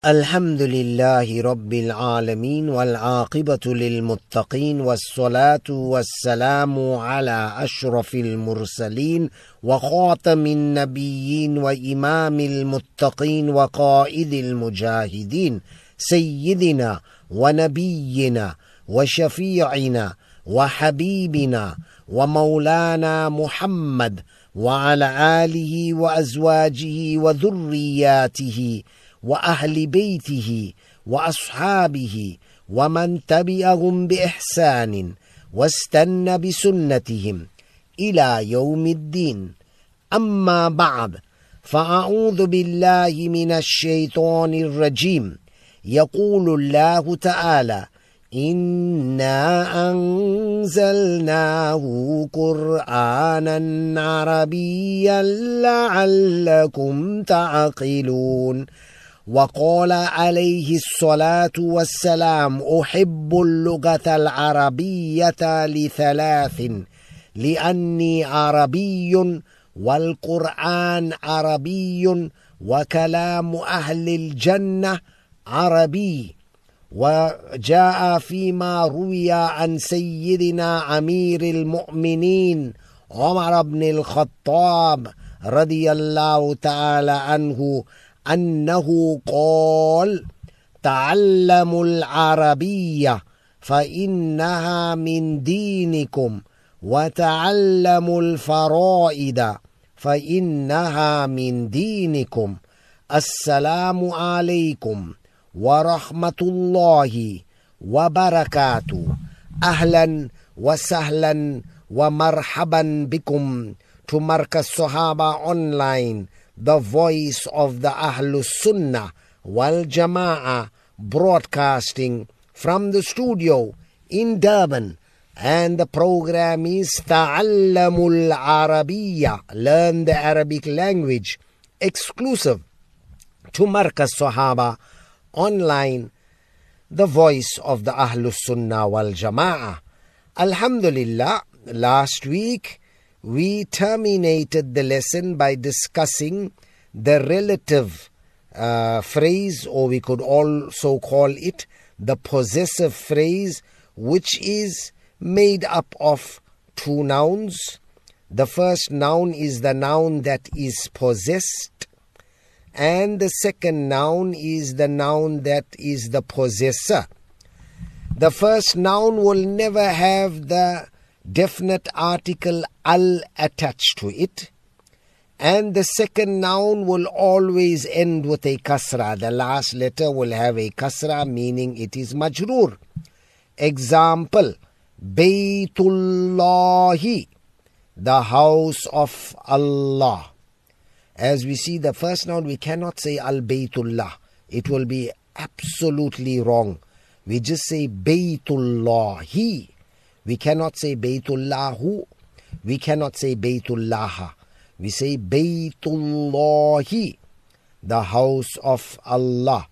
الحمد لله رب العالمين والعاقبة للمتقين والصلاة والسلام على أشرف المرسلين وخاتم النبيين وإمام المتقين وقائد المجاهدين سيدنا ونبينا وشفيعنا وحبيبنا ومولانا محمد وعلى آله وأزواجه وذرياته وأهل بيته وأصحابه ومن تبعهم بإحسان واستنى بسنتهم إلى يوم الدين. أما بعد، فأعوذ بالله من الشيطان الرجيم. يقول الله تعالى: إنا أنزلناه قرآنا عربيا لعلكم تعقلون. وقال عليه الصلاة والسلام: أحب اللغة العربية لثلاث: لأني عربي، والقرآن عربي، وكلام أهل الجنة عربي. وجاء فيما روي عن سيدنا أمير المؤمنين عمر بن الخطاب رضي الله تعالى عنه أنه قال: تعلموا العربية فإنها من دينكم، وتعلموا الفرائض فإنها من دينكم. السلام عليكم ورحمة الله وبركاته. أهلا وسهلا ومرحبا بكم to Markaz Sahaba Online, the voice of the Ahlus Sunnah wal Jama'ah, broadcasting from the studio in Durban. And the program is Ta'allamul Arabiya, learn the Arabic language, exclusive to Markaz Sahaba Online, the voice of the Ahlus Sunnah wal Jama'ah. Alhamdulillah, last week we terminated the lesson by discussing the relative phrase, or we could also call it the possessive phrase, which is made up of two nouns. The first noun is the noun that is possessed, and the second noun is the noun that is the possessor. The first noun will never have the definite article al attached to it, and the second noun will always end with a kasra. The last letter will have a kasra, meaning it is majroor. Example: Baytullahi, the house of Allah. As we see, the first noun we cannot say al-Baytullah. It will be absolutely wrong. We just say Baytullahi. We cannot say Baytullahu. We cannot say Baytullaha. We say Baytullahi, the house of Allah.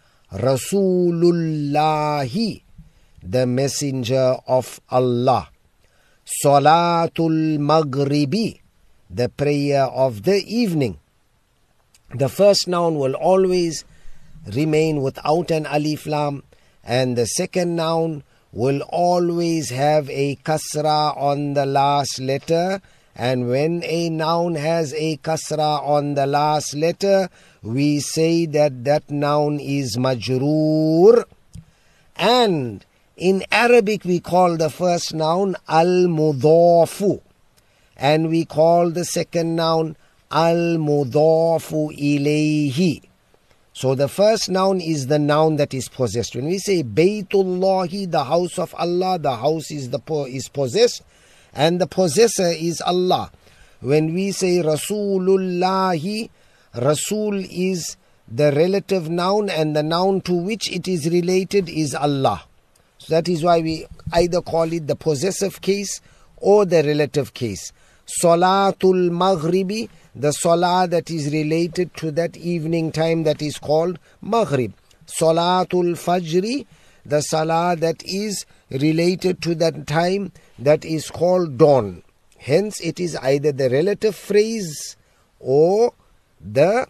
Rasulullahi, the messenger of Allah. Salatul Maghribi, the prayer of the evening. The first noun will always remain without an alif lam, and the second noun will always have a kasra on the last letter. And when a noun has a kasra on the last letter, we say that that noun is majroor. And in Arabic we call the first noun al-mudhafu, and we call the second noun al-mudhafu ilayhi. So the first noun is the noun that is possessed. When we say Baytullahi, the house of Allah, the house is possessed, and the possessor is Allah. When we say Rasulullahi, Rasul is the relative noun, and the noun to which it is related is Allah. So that is why we either call it the possessive case or the relative case. Salatul Maghribi, the salah that is related to that evening time, that is called Maghrib. Salatul Fajri, the salah that is related to that time, that is called dawn. Hence it is either the relative phrase or the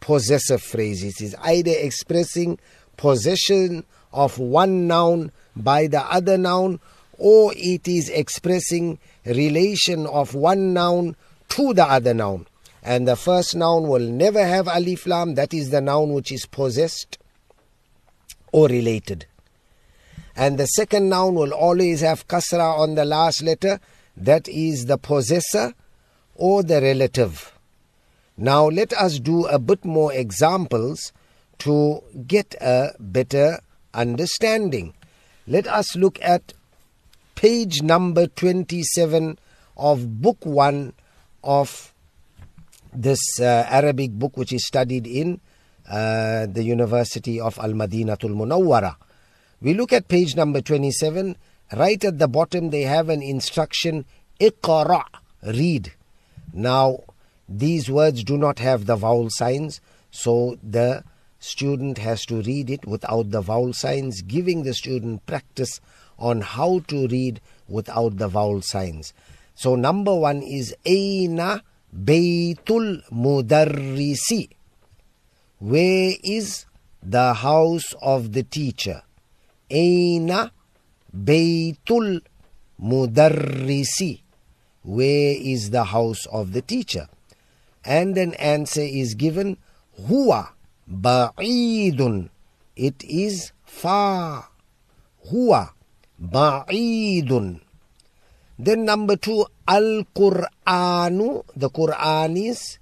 possessive phrase. It is either expressing possession of one noun by the other noun, or it is expressing relation of one noun to the other noun. And the first noun will never have alif lam. That is the noun which is possessed or related. And the second noun will always have kasra on the last letter. That is the possessor or the relative. Now let us do a bit more examples to get a better understanding. Let us look at page number 27 of book 1 of this Arabic book which is studied in the University of Al-Madinatul Munawwara. We look at page number 27. Right at the bottom they have an instruction, Iqra, read. Now these words do not have the vowel signs, so the student has to read it without the vowel signs, giving the student practice on how to read without the vowel signs. So number 1 is Aina Baytul Mudarrisi. Where is the house of the teacher? Aina Baytul Mudarrisi. Where is the house of the teacher? And an answer is given, Huwa Ba'idun. It is far. Huwa Ba'idun. Then number 2, Al-Qur'anu. The Qur'an is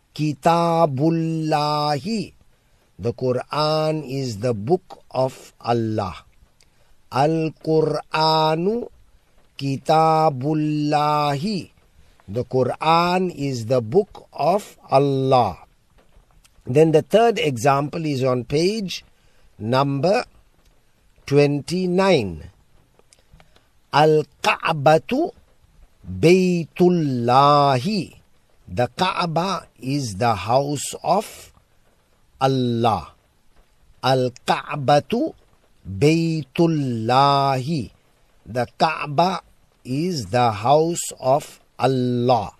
Kitabullahi. The Qur'an is the book of Allah. Al-Qur'anu Kitabullahi. The Qur'an is the book of Allah. Then the third example is on page number 29. Al-Ka'batu Baytullahi. The Kaaba is the house of Allah. Al-Ka'batu Baytullahi. The Kaaba is the house of Allah.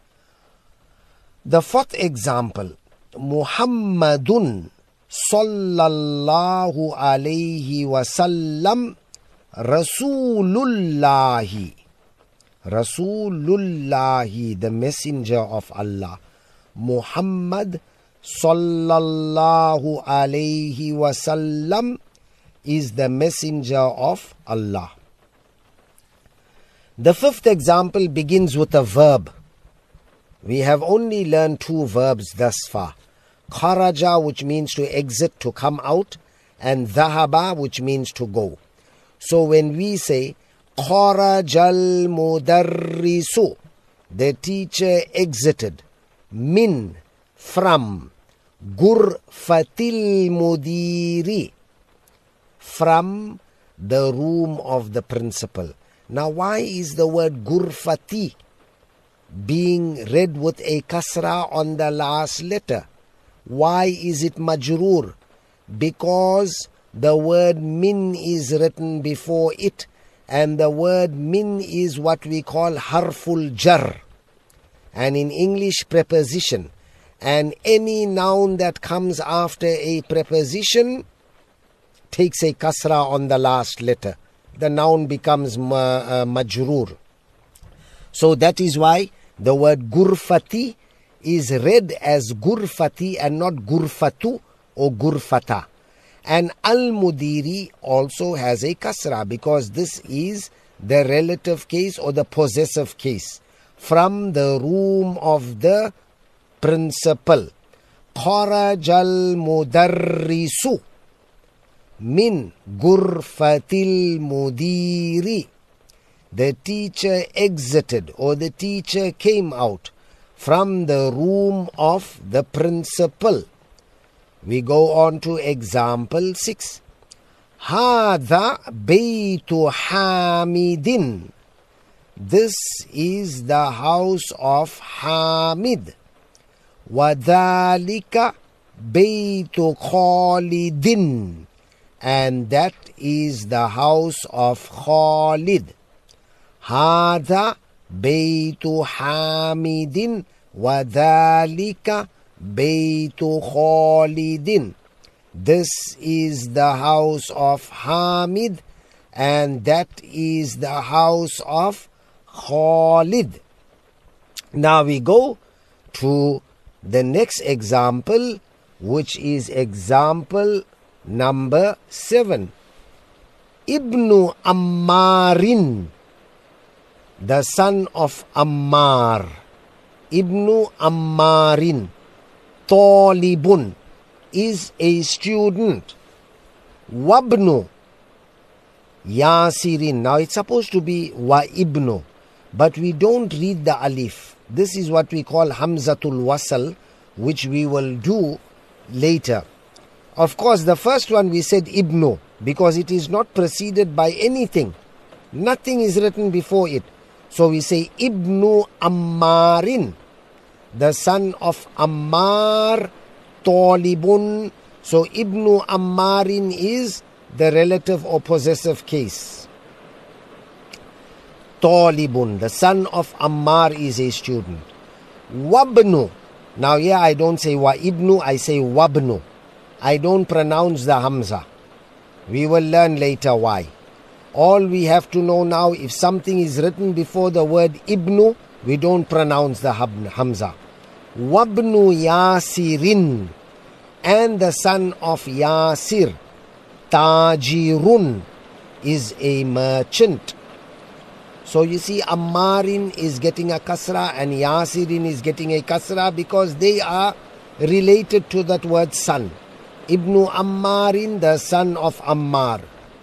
The fourth example, Muhammadun sallallahu alayhi wasallam Rasulullahi. Rasulullahi, the messenger of Allah. Muhammad sallallahu alayhi wasallam is the messenger of Allah. The fifth example begins with a verb. We have only learned 2 verbs thus far. Kharaja, which means to exit, to come out, and dhahaba, which means to go. So when we say Kharajal Mudarrisu, the teacher exited, min, from, Gurfatil Mudiri, from the room of the principal. Now why is the word Gurfati being read with a kasra on the last letter? Why is it majroor? Because the word min is written before it, and the word min is what we call harful jar, and in English preposition. And any noun that comes after a preposition takes a kasra on the last letter. The noun becomes majroor. So that is why the word Gurfati is read as Gurfati and not Gurfatu or Gurfata. And Al-Mudiri also has a kasra because this is the relative case or the possessive case. From the room of the principal. Kharajal Mudarrisu min Gurfatil Mudiri. The teacher exited or the teacher came out from the room of the principal. We go on to example 6. Hadha Baytu Hamidin. This is the house of Hamid. Wadhalika Baytu Khalidin. And that is the house of Khalid. Hadha Baytu Hamidin Wadhalika Baytu Khalidin. This is the house of Hamid, and that is the house of Khalid. Now we go to the next example, which is example number 7. Ibnu Ammarin, the son of Ammar. Ibnu Ammarin, Talibun, is a student. Wabnu Yasirin. Now it's supposed to be wa ibnu, but we don't read the alif. This is what we call Hamzatul Wasal, which we will do later. Of course, the first one we said ibnu because it is not preceded by anything. Nothing is written before it. So we say Ibnu Ammarin, the son of Ammar, Talibun. So Ibnu Ammarin is the relative or possessive case. Talibun, the son of Ammar, is a student. Wabnu. Now here I don't say wa ibnu, I say wabnu. I don't pronounce the hamza. We will learn later why. All we have to know now, if something is written before the word ibnu, we don't pronounce the hamza. Wabnu Yasirin, and the son of Yasir. Tajirun is a merchant. So you see, Ammarin is getting a kasra and Yasirin is getting a kasra because they are related to that word son. Ibnu Ammarin, the son of Ammar.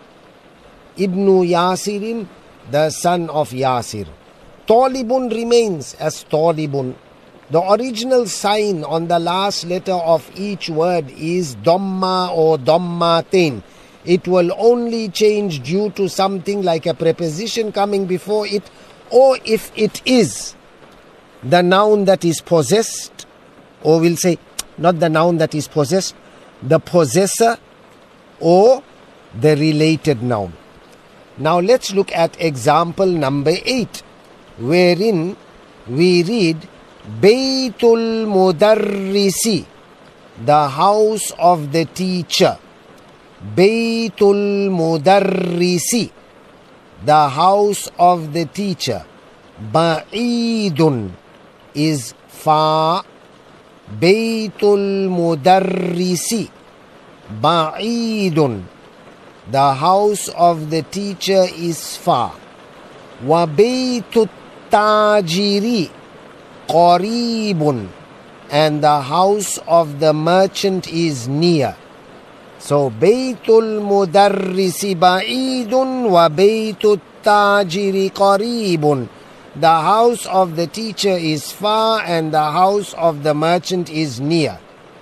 Ibnu Yasirin, the son of Yasir. Talibun remains as Talibun. The original sign on the last letter of each word is Dhamma or Dhammatain. It will only change due to something like a preposition coming before it, or if it is the noun that is possessed, or we'll say not the noun that is possessed, the possessor or the related noun. Now let's look at example number 8, wherein we read Baytul Mudarrisi, the house of the teacher. Baytul Mudarrisi, the house of the teacher. Ba'idun is far. Baytul Mudarrisi, Ba'idun, the house of the teacher is far. Wa Baytut Tajiri Qaribun, and the house of the merchant is near. So Baytul Mudarrisi Ba'idun wa Baytut Tajiri Qaribun. The house of the teacher is far and the house of the merchant is near.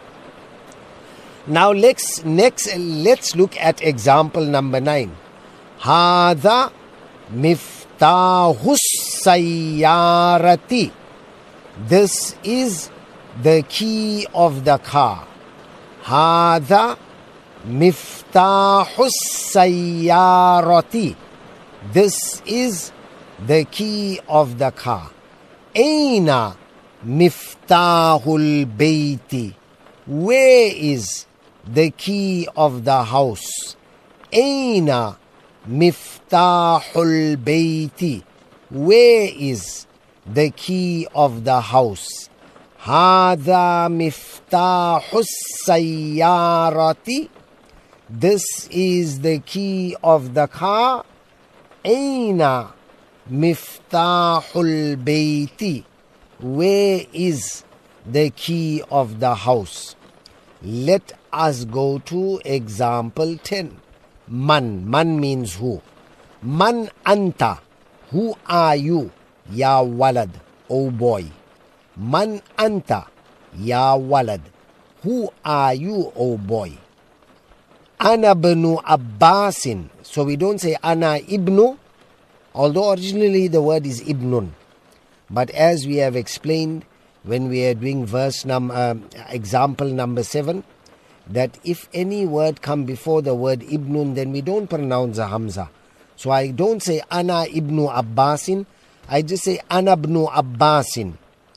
Now let's look at example number 9. Hadha miftahus sayyarati. This is the key of the car. Hadha miftahus sayyarati. This is the key of the car. Aina miftahul bayti. Where is the key of the house? Aina miftahul bayti. Where is the key of the house? Hadha miftahus sayyarati. This is the key of the car. Aina miftahul bayti. Where is the key of the house? Let us go to example 10. Man. Man means who. Man anta. Who are you? Ya walad. O boy. Man anta. Ya walad. Who are you, O boy? Ana ibnu Abbasin. So we don't say Ana ibnu, although originally the word is ibnun. But as we have explained when we are doing example number 7, that if any word come before the word ibnun, then we don't pronounce the hamza. So I don't say Ana ibnu Abbasin, I just say Ana ibnu Abbasin.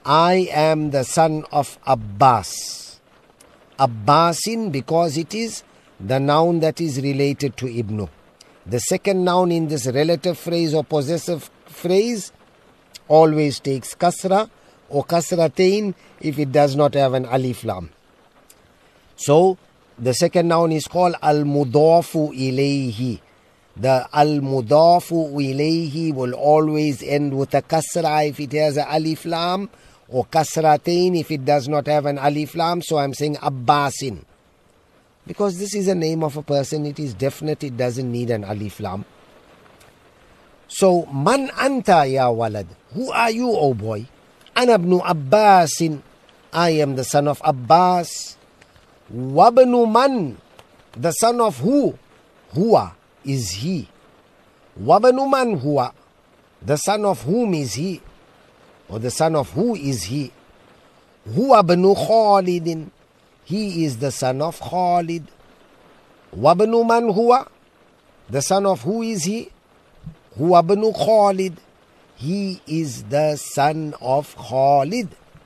I am the son of Abbas. Abbasin, because it is the noun that is related to Ibnu. The second noun in this relative phrase or possessive phrase always takes kasra or kasratain if it does not have an alif lam. So the second noun is called al-mudafu ilayhi. The al-mudafu ilayhi will always end with a kasra if it has an alif lam, or kasratain if it does not have an alif lam. So I'm saying Abbasin. Because this is a name of a person, it is definite, it doesn't need an alif lam. So, man anta ya walad? Who are you, O boy? Ana ibnu Abbasin. I am the son of Abbas. Wabnu man? The son of who? Huwa is he. Wabnu man huwa? The son of whom is he? Or the son of who is he? Huwa bnu Khalidin. He is the son of Khalid. Wabnu man huwa? The son of who is he? Huwa bnu Khalid. He is the son of Khalid.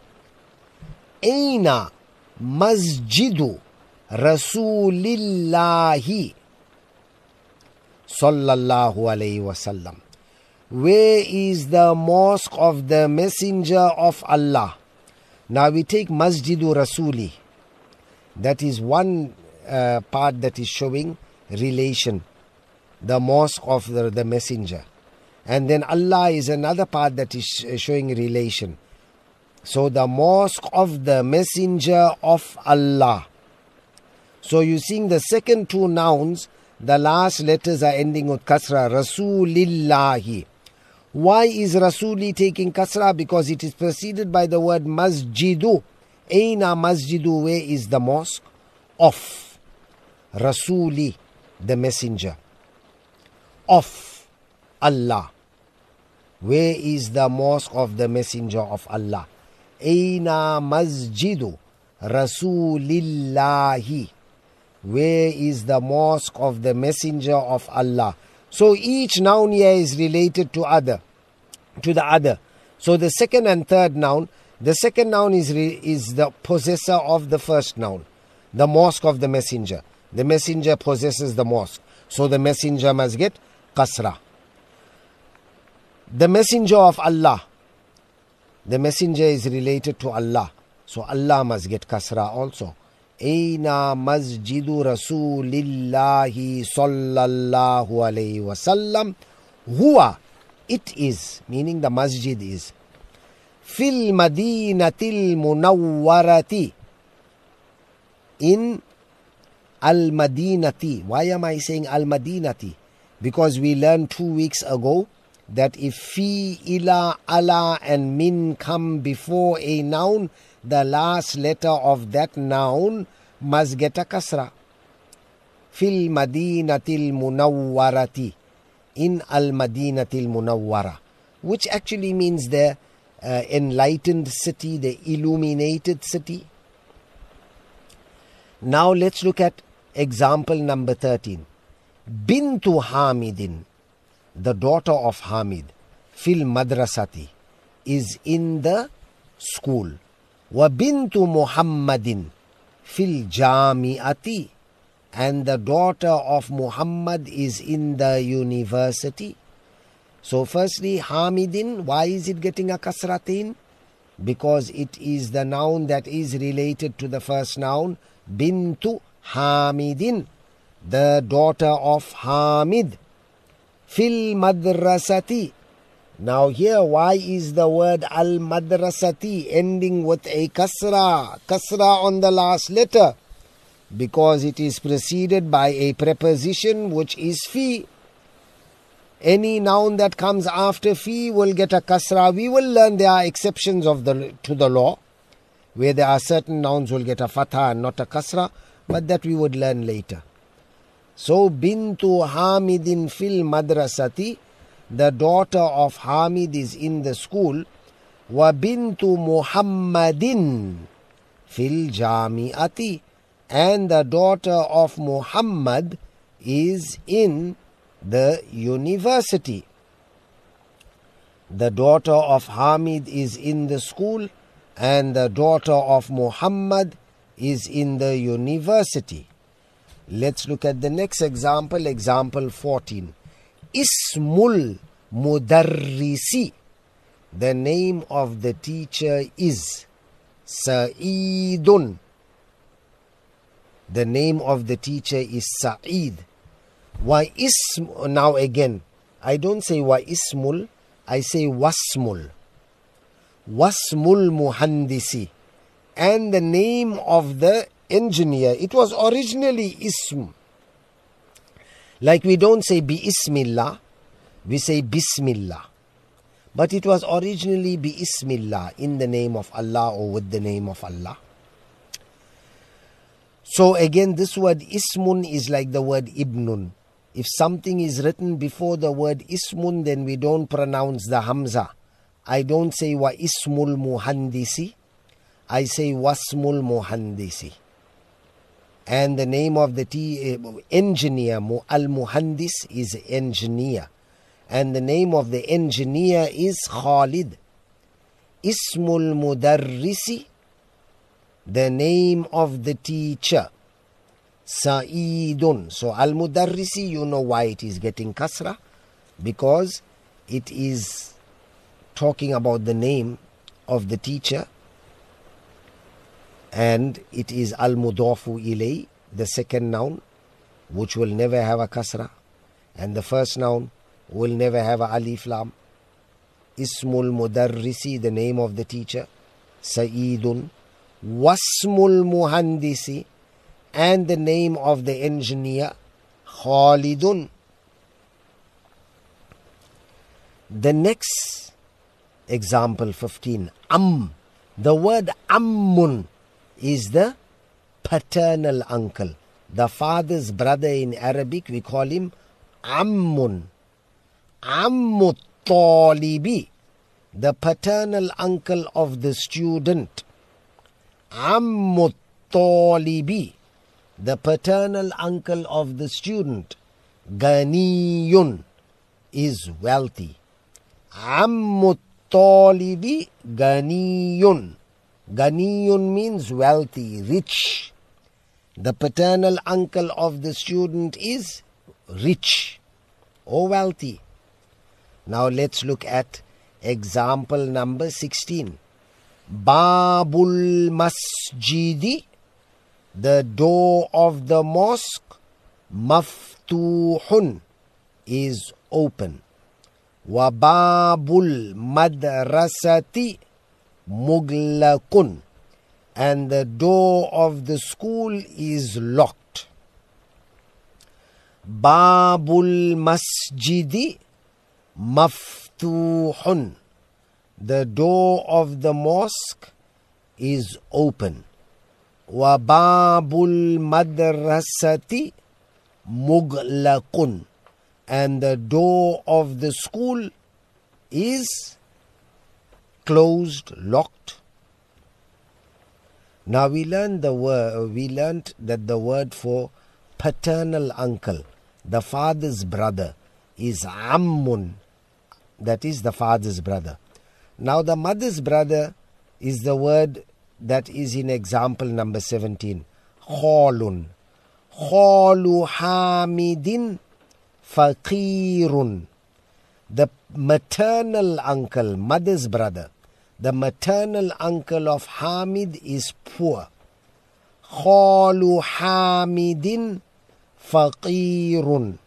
Aina masjidu Rasulillahi sallallahu alayhi wasallam. Where is the mosque of the messenger of Allah? Now we take Masjidu Rasuli. That is one part that is showing relation. The mosque of the messenger. And then Allah is another part that is showing relation. So the mosque of the messenger of Allah. So you seeing the second two nouns, the last letters are ending with kasra. Rasulillahi. Why is Rasuli taking kasra? Because it is preceded by the word masjidu. Aina masjidu, where is the mosque? Of Rasuli, the messenger. Of Allah. Where is the mosque of the messenger of Allah? Aina masjidu Rasulillahi. Where is the mosque of the messenger of Allah? So each noun here is related to the other. So the second and third noun, the second noun is the possessor of the first noun, the mosque of the messenger. The messenger possesses the mosque. So the messenger must get kasra. The messenger of Allah, the messenger is related to Allah. So Allah must get kasra also. Aina masjidu Rasulillahi sallallahu alayhi wasallam. Huwa, it is, meaning the masjid is. Fil madinatil munawwarati. In al-madinati. Why am I saying al-madinati? Because we learned 2 weeks ago that if fi, ila, ala and min come before a noun, the last letter of that noun must get a kasra. Fil madinatil munawwarati. In al madinatil munawwara. Which actually means the enlightened city, the illuminated city. Now let's look at example number 13. Bintu Hamidin, the daughter of Hamid, fil madrasati, is in the school. Wa bintu Muhammadin fil jami'ati, and the daughter of Muhammad is in the university. So firstly, Hamidin, why is it getting a kasratin? Because it is the noun that is related to the first noun, bintu Hamidin, the daughter of Hamid. Fil madrasati. Now here, why is the word al-madrasati ending with a kasra? Kasra on the last letter. Because it is preceded by a preposition which is fi. Any noun that comes after fi will get a kasra. We will learn there are exceptions to the law, where there are certain nouns will get a fatha and not a kasra, but that we would learn later. So, bintu Hamidin fil madrasati, the daughter of Hamid is in the school. Wa bintu Muhammadin fil jami'ati, and the daughter of Muhammad is in the university. The daughter of Hamid is in the school, and the daughter of Muhammad is in the university. Let's look at the next example, example 14. Ismul Mudarrisi. The name of the teacher is Sa'idun. The name of the teacher is Sa'id. Now again, I don't say wa ismul, I say wasmul. Wasmul muhandisi. And the name of the engineer, it was originally ism. Like we don't say bi ismillah, we say bismillah. But it was originally bi ismillah, in the name of Allah or with the name of Allah. So again, this word ismun is like the word ibnun. If something is written before the word ismun, then we don't pronounce the hamza. I don't say wa ismul muhandisi, I say wasmul muhandisi. And the name of the engineer, al-muhandis, is engineer. And the name of the engineer is Khalid. Ismul mudarrisi, the name of the teacher, Sa'idun. So al-mudarrisi, you know why it is getting kasra, because it is talking about the name of the teacher, and it is al-mudafu ilay, the second noun, which will never have a kasra, and the first noun will never have a alif lam. Ismul mudarrisi, the name of the teacher, Sa'idun. Wasmul muhandisi, and the name of the engineer, Khalidun. The next example 15, the word ammun is the paternal uncle, the father's brother. In Arabic we call him ammun. Ammut talibi, the paternal uncle of the student. Ammut talibi, the paternal uncle of the student. Ganiyun is wealthy. Ammut talibi ganiyun. Ganiyun means wealthy, rich. The paternal uncle of the student is rich or wealthy. Now let's look at example number 16. Babul masjidi, the door of the mosque, maftuhun, is open. Wa babul madrasati muglaqun, and the door of the school is locked. Babul masjidi maftuhun, the door of the mosque is open. Wa babul madrasati muglaqun, and the door of the school is closed, locked. Now we learned that the word for paternal uncle, the father's brother, is ammun. That is the father's brother. Now the mother's brother is the word that is in example number 17. Khalun. Khalu hamidin faqirun. The maternal uncle, mother's brother, the maternal uncle of Hamid is poor. Khalu hamidin faqirun.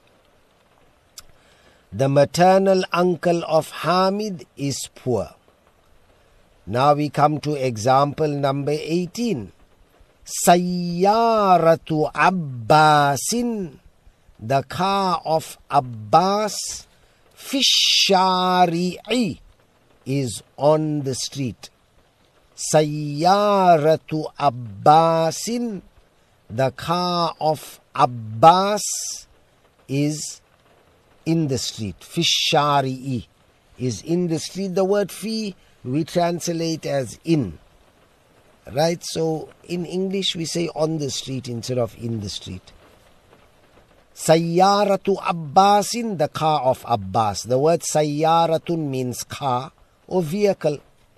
The maternal uncle of Hamid is poor. Now we come to example number 18. Sayyaratu Abbasin, the car of Abbas, Fishari'i, is on the street. Sayyaratu Abbasin, the car of Abbas, is in the street. Fishari'i is in the street. The word fi we translate as in. Right? So in English we say on the street instead of in the street. Sayyaratu Abbasin, the car of Abbas. The word Sayyaratun means car or vehicle.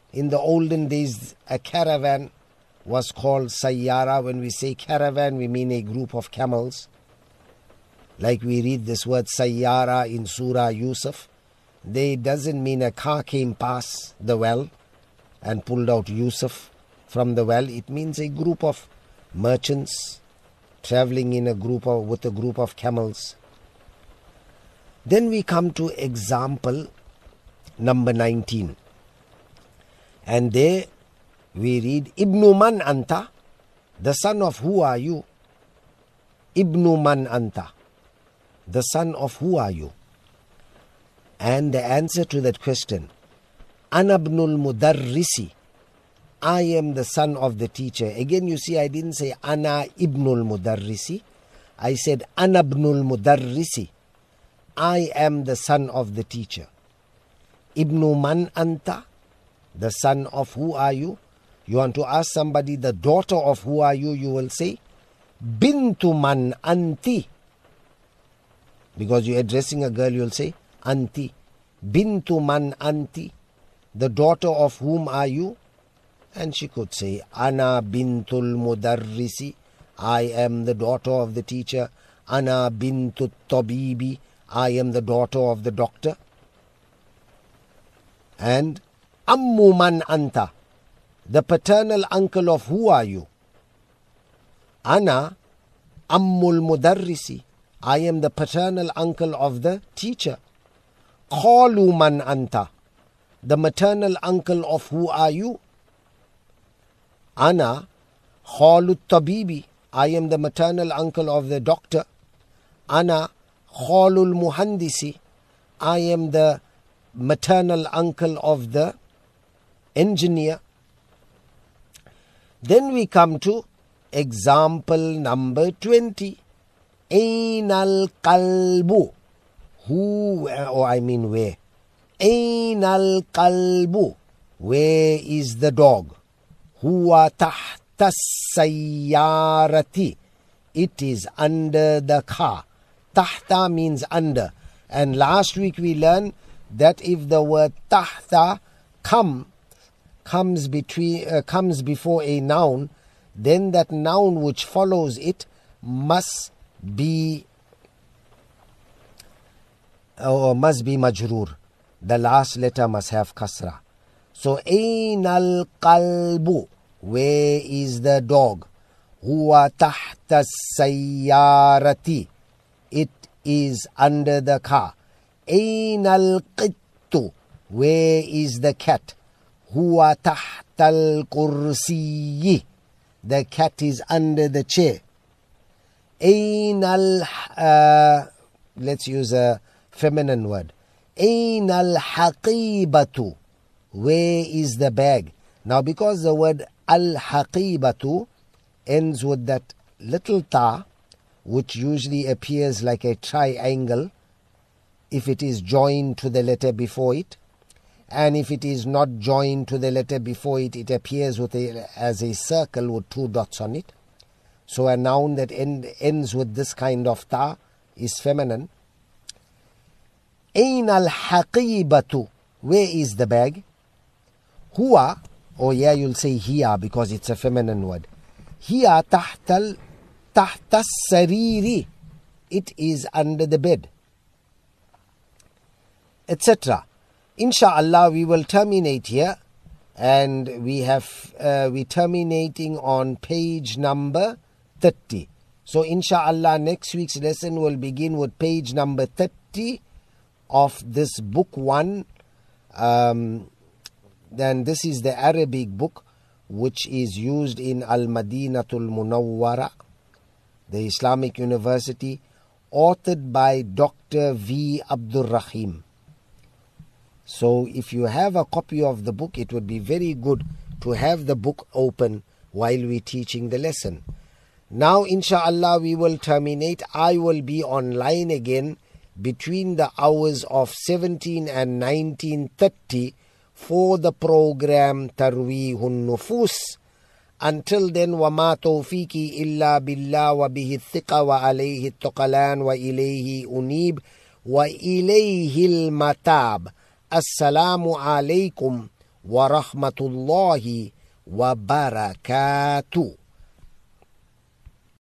In the olden days, a caravan was called sayyara. When we say caravan, we mean a group of camels. Like we read this word sayyara in Surah Yusuf. They doesn't mean a car came past the well and pulled out Yusuf from the well. It means a group of merchants traveling in with a group of camels. Then we come to example number 19. And there we read, Ibnu man anta, the son of who are you? Ibnu man anta, the son of who are you? And the answer to that question, Ana ibnul mudarrisi, I am the son of the teacher. Again, you see, I didn't say Ana ibnul mudarrisi. I said Ana ibnul mudarrisi. I am the son of the teacher. Ibnu man anta, the son of who are you? You want to ask somebody the daughter of who are you? You will say Bintu man anti. Because you're addressing a girl, you'll say Anti. Bintu man anti, the daughter of whom are you? And she could say Ana bintul mudarrisi, I am the daughter of the teacher. Ana bintu tabibi, I am the daughter of the doctor. And Ammu man anta, the paternal uncle of who are you? Ana ammul mudarrisi, I am the paternal uncle of the teacher. Khalu man anta, the maternal uncle of who are you? Ana khalu tabibi, I am the maternal uncle of the doctor. Ana khalul muhandisi, I am the maternal uncle of the engineer. Then we come to example number 20. Ainal qalbu, who, or I mean where? Ainal qalbu, where is the dog? Huwa tahta sayyarati, it is under the car. Tahta means under. And last week we learned that if the word tahta comes before a noun, then that noun which follows it must be majroor. The last letter must have kasra. So Ainal qalbu, where is the dog? Huwa tahta sayyarati, it is under the car. Ainal qittu, where is the cat? Huwa tahtal kursiyi, the cat is under the chair. Ainal, let's use a feminine word. Ainal haqibatu, where is the bag? Now because the word al-haqibatu ends with that little ta, which usually appears like a triangle if it is joined to the letter before it, and if it is not joined to the letter before it, it appears as a circle with two dots on it. So a noun that ends with this kind of ta is feminine. Ainal haqibatu, where is the bag? Huwa, or yeah, you'll say hiya because it's a feminine word. Hiya tahta sariri, it is under the bed, etc. Insha'Allah, we will terminate here, and we terminating on page number 30. So Insha'Allah, next week's lesson will begin with page number 30 of this book 1. Then this is the Arabic book which is used in Al-Madinatul Munawwara, the Islamic University, authored by Dr. V. Abdul Rahim. So if you have a copy of the book, it would be very good to have the book open while we're teaching the lesson. Now, insha'Allah, we will terminate. I will be online again between the hours of 17 and 19:30 for the program Tarweehun Nufus. Until then, وَمَا تَوْفِيقِي إِلَّا بِاللَّهِ وَبِهِ الثِّقَةُ وَعَلَيْهِ التَّوَكُّلُ وَإِلَيْهِ أُنِيبُ وَإِلَيْهِ الْمَتَابُ. السلام عليكم ورحمة الله وبركاته.